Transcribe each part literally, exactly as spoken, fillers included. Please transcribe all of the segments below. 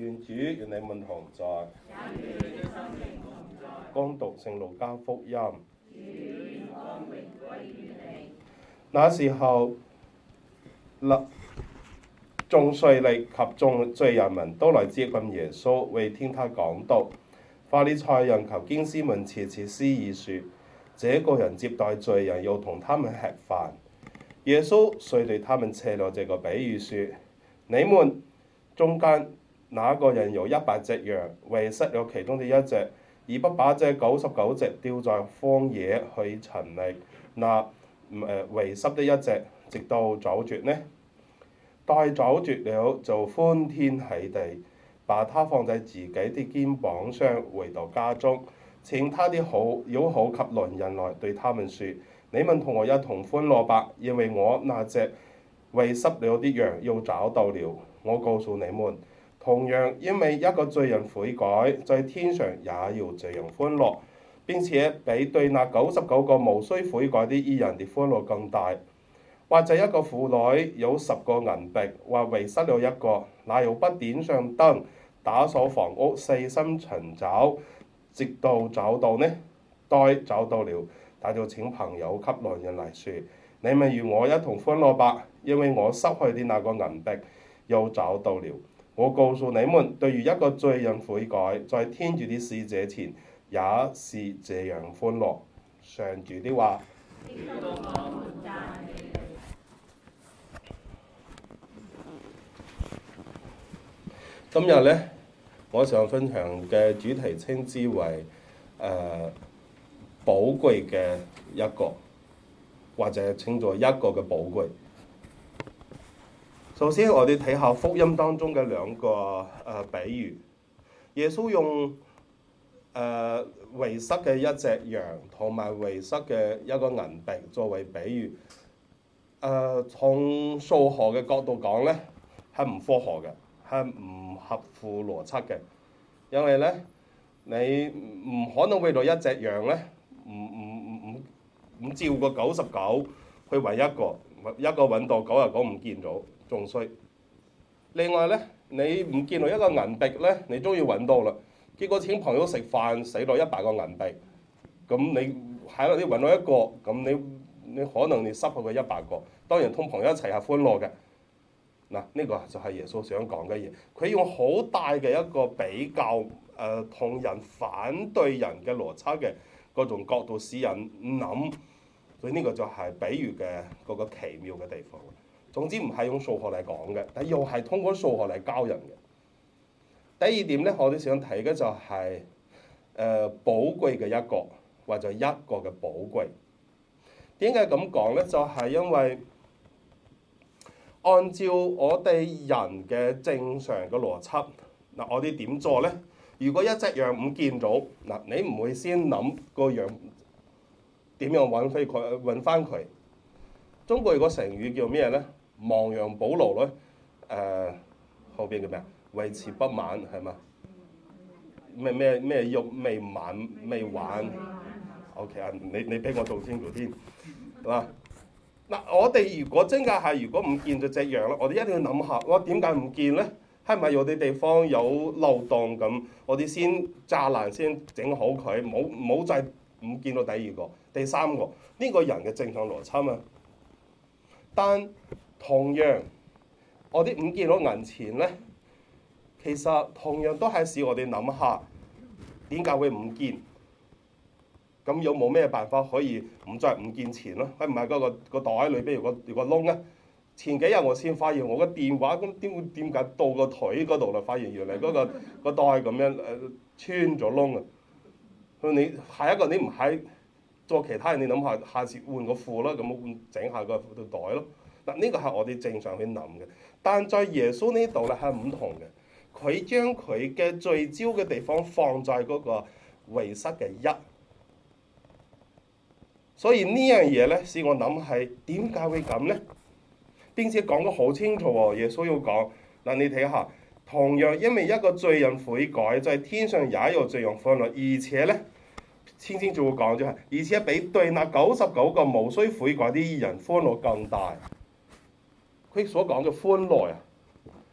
願主與你們同在。恭讀聖路加福音。那時候，眾稅吏及眾罪人們都來接近耶穌，為聽他講道。法利賽人及經師們竊竊私議說：這個人接待罪人，又同他們吃飯。耶穌遂對他們設了這個比喻說：你們中間哪個人有一百隻羊，遺失了其中的一隻，而不把這九十九隻丟在荒野去尋覓那誒遺失的一隻，直到找着呢？待找着了，就歡天喜地，把它放在自己的肩膀上，回到家中，請他的好友好及鄰人來，對他們說：你們同我一同歡樂吧，因為我那隻遺失了的羊又找到了。我告訴你們，同樣因為一個罪人悔改，在天上也要這樣歡樂，並且比對那九十九個無需悔改的義人的歡樂更大。或者一個婦女有十個銀幣，或遺失了一個，那又不點上燈，打掃房屋，細心尋找，直到找到呢？待找到了，他就請朋友及鄰人來說：你們與我一同歡樂吧，因為我失去的那個銀幣又找到了。我告訴你們，對於一個罪人悔改，在天主的使者前也是這樣歡樂。上主的話。今日呢，我想分享嘅主題稱之為誒、呃、寶貴嘅一個，或者稱作一個嘅寶貴。首先，我哋睇下福音當中嘅兩個誒、呃、比喻。耶穌用誒、呃、遺失嘅一隻羊同埋遺失嘅一個銀幣作為比喻。誒、呃，從數學嘅角度講咧，係唔科學嘅，係唔合乎邏輯嘅。因為咧，你唔可能為咗一隻羊咧，唔唔唔唔唔照個九十九去揾一個，一個揾到九十九唔見咗。仲衰。另外咧，你唔見到一個銀幣咧，你終於揾到啦。結果請朋友食飯，使咗一百個銀幣。咁你喺度你揾到一個，咁你你可能你失去佢一百個。當然同朋友一齊係歡樂嘅。嗱，呢個就係耶穌想講嘅嘢。佢用好大嘅一個比較，誒同人反對人嘅邏輯嘅嗰種角度使人諗。所以呢個就係比喻嘅嗰個奇妙嘅地方。總之唔係用數學嚟講嘅，但又係通過數學嚟教人嘅。第二點咧，我哋想睇嘅就係、是、誒、呃、寶貴嘅一個，或者一個嘅寶貴。點解咁講咧？就係、是、因為按照我哋人嘅正常嘅邏輯，嗱我哋點做咧？如果一隻羊唔見咗，嗱你唔會先諗個羊點樣揾翻佢，揾翻佢。中國有個成語叫咩咧？亡羊補牢咧，誒、呃、後邊叫咩啊？為時不晚係嘛？咩咩咩肉未晚未晚 ？OK 啊，你你俾我做清楚啲，係嘛？嗱，我哋如果真係係如果唔見咗隻羊咧，我哋一定要諗下，我點解唔見咧？係咪有啲地方有漏洞咁？我哋先柵欄先整好佢，冇冇再唔見到第二個、第三個？呢、這個人嘅正常邏輯啊！但同樣，我哋唔見到銀錢咧，其實同樣都係使我哋諗下點解會唔見？咁有冇咩辦法可以唔再唔見錢咯？係唔係嗰個個袋裏邊有個有個窿啊？前幾日我先發現我個電話咁點會點解到個腿嗰度啦？發現原來嗰、嗰個個袋咁樣誒穿咗窿啊！你下一個你唔係做其他人，你諗下下次換個褲啦，咁換整下個袋咯。嗱，呢個係我哋正常去諗嘅，但在耶穌呢度咧係唔同嘅。佢將佢嘅聚焦嘅地方放在嗰個遺失嘅一，所以呢樣嘢咧使我諗係點解會咁咧？並且講得好清楚喎，耶穌要講嗱，你睇下，同樣因為一個罪人悔改，在天上也有這樣歡樂，而且咧清清楚楚講咗係，而且比對那九十九個無需悔改啲義人歡樂更大。佢所講嘅歡樂啊，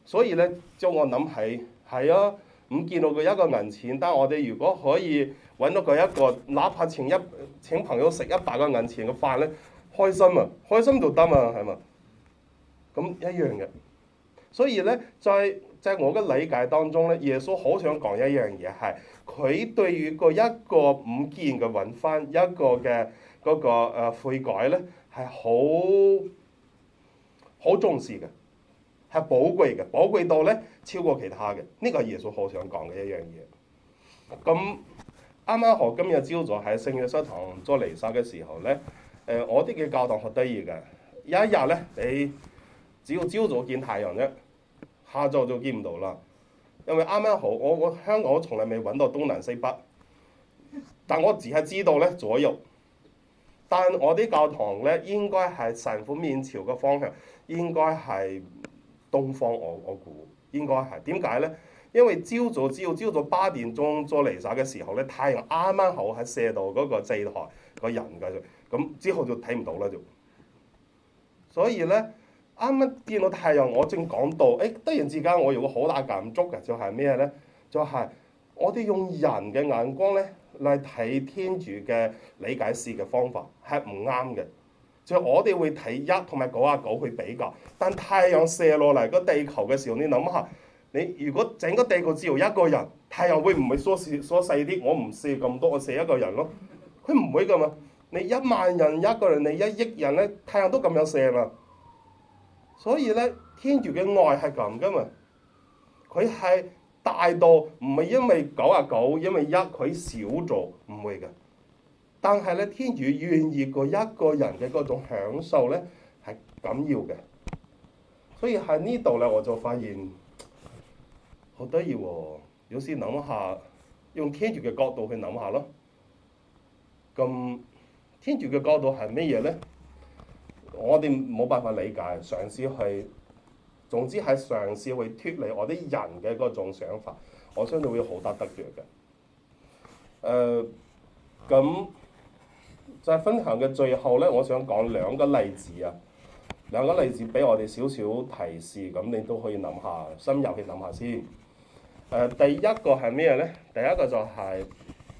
所以咧，將我諗起係啊，唔見到佢一個銀錢，但係我哋如果可以揾到佢一個，哪怕請一請朋友食一百個銀錢嘅飯咧，開心啊，開心就得嘛，係嘛？咁一樣嘅。所以咧，在在我嘅理解當中咧，耶穌好想講一樣嘢係，佢對於個一個唔見嘅揾翻一個嘅嗰個誒悔改咧，係好好重視嘅，係寶貴嘅，寶貴到咧超過其他嘅。呢個係耶穌好想講嘅一樣嘢。咁啱啱好今日朝早喺聖約瑟堂做彌撒嘅時候咧，誒我哋嘅教堂好得意嘅，有一日咧，你只要朝早見太陽啫。下晝就見唔到啦，因為啱啱好，我我香港我從來未揾到東南西北，但我只係知道咧左右。但我啲教堂咧應該係神父面朝嘅方向，應該係東方我。我我估應該係點解咧？因為朝早只要朝早八點鐘做彌撒嘅時候咧，太陽啱啱好喺射到嗰個祭台個人嘅，咁之後就睇唔到啦就。所以咧。啱啱見到太陽，我正講到，誒突然之間我有個好大感觸嘅，就係咩咧？就係、是、我哋用人嘅眼光咧嚟睇天主嘅理解事嘅方法係唔啱嘅。就係、我哋會睇一同埋九啊九去比較，但太陽射落嚟個地球嘅時候，你諗下，你如果整個地球只有一個人，太陽會唔會縮細縮細啲？我唔射咁多，我射一個人咯。佢唔會噶嘛。你一萬人一個人，你一億人咧，太陽都咁樣射嘛。所以咧，天主嘅愛係咁噶嘛，佢係大到唔係因為九啊九，因為一佢少咗，唔會嘅。但係咧，天主願意個一個人嘅嗰種享受咧係緊要嘅。所以喺呢度咧，我就發現好得意喎。有時諗下，用天主嘅角度去諗下咯。咁天主嘅角度係乜嘢咧？我哋冇辦法理解，嘗試去，總之係嘗試去脫離我啲人嘅嗰種想法，我相信會好得得着嘅。誒、呃，咁就係分享嘅最後咧，我想講兩個例子啊，兩個例子俾我哋少少提示，咁你都可以諗下，深入去諗下先。誒、呃，第一個係咩咧？第一個就係、是、誒、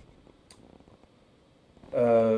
呃、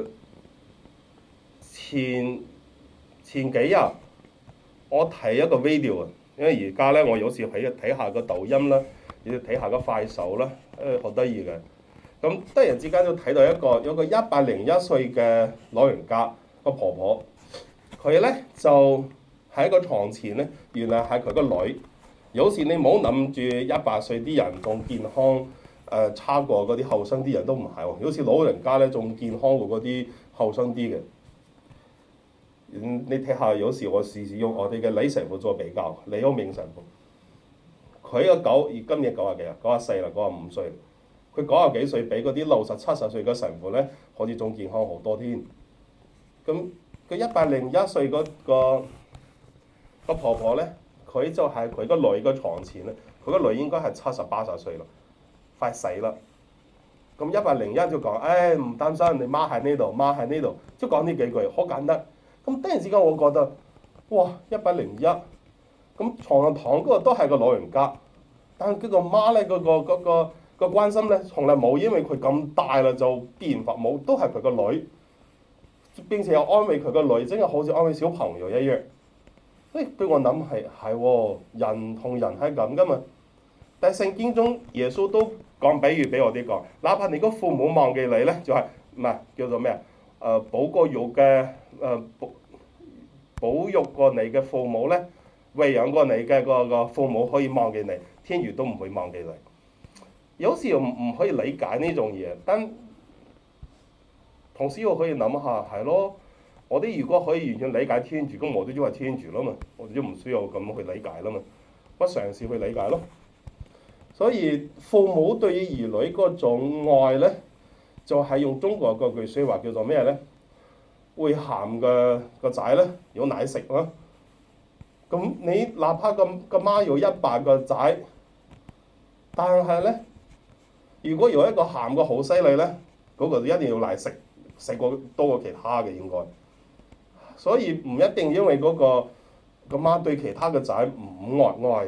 前。前幾日我睇一個 video 啊，因為而家咧我有時睇睇下個抖音啦，要睇下個快手啦，誒好得意嘅。咁突然之間都睇到一個有個一百零一歲嘅老人家個婆婆，佢咧就喺個床前咧，原來係佢個女。有時你唔好諗住一百歲啲人仲健康，誒、呃、差過嗰啲後生啲人都唔係喎。有時老人家咧仲健康過嗰啲後生啲嘅。嗯、你睇下，有時我試試用我哋嘅李神父做比較，李歐明神父，佢個九今年九啊幾啊？九啊四啦，九啊五歲。佢九啊幾歲，比嗰啲六十七十歲嘅神父咧，好似仲健康好多添。咁佢一百零一歲嗰個個婆婆咧，佢就係佢個女個床前咧，佢個女應該係七十八十歲啦，快死啦。咁一百零一就講，誒唔擔心，你媽喺呢度，媽喺呢度，即係講呢幾句，好簡單。咁突然之間，我覺得，哇！一百零一，咁床上躺嗰個都係個老人家，但係佢個媽咧，嗰個嗰個個關心咧，從來冇因為佢咁大啦就變化冇，都係佢個女，並且又安慰佢個女，真係好似安慰小朋友一樣。誒，俾我諗係係喎，人同人係咁噶嘛。但係聖經中耶穌都講比喻俾我哋講，哪怕你個父母忘記你咧，就係唔係叫做咩啊？誒、呃、保過育嘅誒保保育過你嘅父母咧，餵養過你嘅個個父母可以忘記你，天主都唔會忘記你。有時又唔唔可以理解呢種嘢，但同時我可以諗下，係咯，我哋如果可以完全理解天主，咁我哋都係天主啦嘛，我哋都唔需要咁去理解啦嘛，不嘗試去理解咯。所以父母對於兒女嗰種愛咧，就係用中國嗰句説話叫做咩咧？會喊嘅個仔咧有奶食咯。咁你哪怕個個媽有一百個仔，但係咧，如果有一個喊個好犀利咧，嗰個一定要奶食，食過多過其他嘅應該。所以唔一定因為嗰個個媽對其他嘅仔唔愛愛嘅，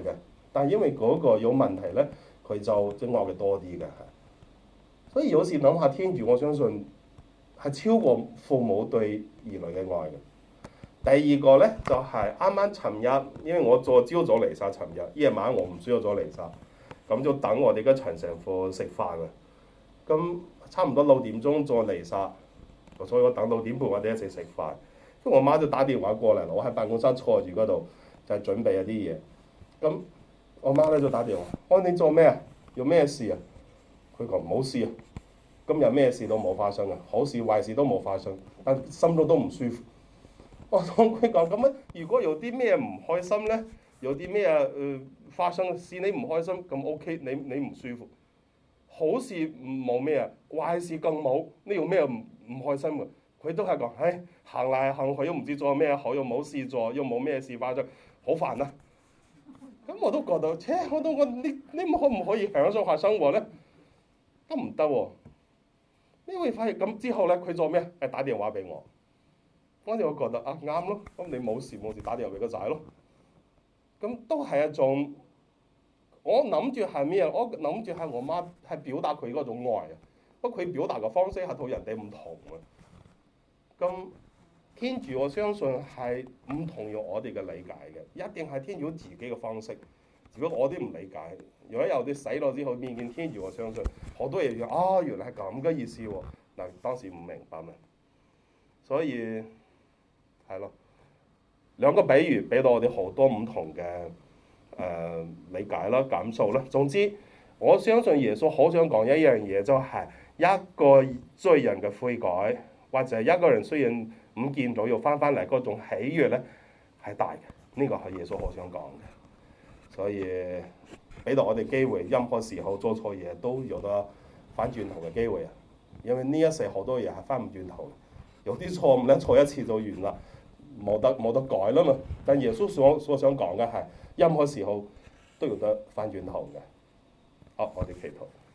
但係因為嗰個有問題咧，佢就即係惡嘅多啲嘅。所以有時諗下天主，我相信係超過父母對兒女嘅愛嘅。第二個咧就係啱啱尋日，因為我做朝早彌撒，尋日夜晚我唔需要做彌撒，咁就等我哋嘅陳神父食飯嘅。咁差唔多六點鐘做彌撒，所以我等六點半我哋一齊食飯。咁我媽就打電話過嚟，我喺辦公室坐住嗰度就係準備一啲嘢。咁我媽咧就打電話，我你做咩啊？有咩事啊？佢講冇事啊，今日咩事都冇發生啊，好事壞事都冇發生，但心中都唔舒服。我同佢講咁樣，如果有啲咩唔開心咧，有啲咩誒發生事你唔開心，咁 OK，你你唔舒服。好事冇咩啊，壞事更冇，你有咩唔唔開心嘅？佢都係講，唉，行嚟行去都唔知做咩好，又冇事做，又冇咩事發生，好煩啊！咁我都覺得，切，我都我你你可唔可以享受下生活咧？都唔得喎！你會發現咁之後咧，佢做咩？係打電話俾我。我就覺得啊啱咯，咁你冇事冇事打電話俾個仔咯。咁都係一種，我諗住係咩啊？我諗住係我媽係表達佢嗰種愛啊。不過佢表達嘅方式係同人哋唔同啊。咁天主我相信係唔同於我哋嘅理解嘅，一定係天主自己嘅方式。只不過我啲唔理解。如果有啲洗腦之後面見天主，我相信好多嘢要啊，原來係咁嘅意思喎。嗱，當時唔明白嘛，所以。係咯，兩個比喻俾到我哋好多唔同嘅誒、呃、理解啦、感受啦。總之，我相信耶穌好想講一樣嘢，就係一個罪人嘅悔改，或者一個人雖然唔見到又翻返嚟嗰種喜悅咧，係大嘅。呢、這個係耶穌好想講嘅。所以俾到我哋機會，任何時候做錯嘢都有得翻轉頭嘅機會啊！因為呢一世好多嘢係翻唔轉頭，有啲錯誤咧錯一次就完啦。冇得冇得改啦嘛，但耶穌所所想講嘅係任何時候都要得翻轉頭嘅。好，我哋祈禱。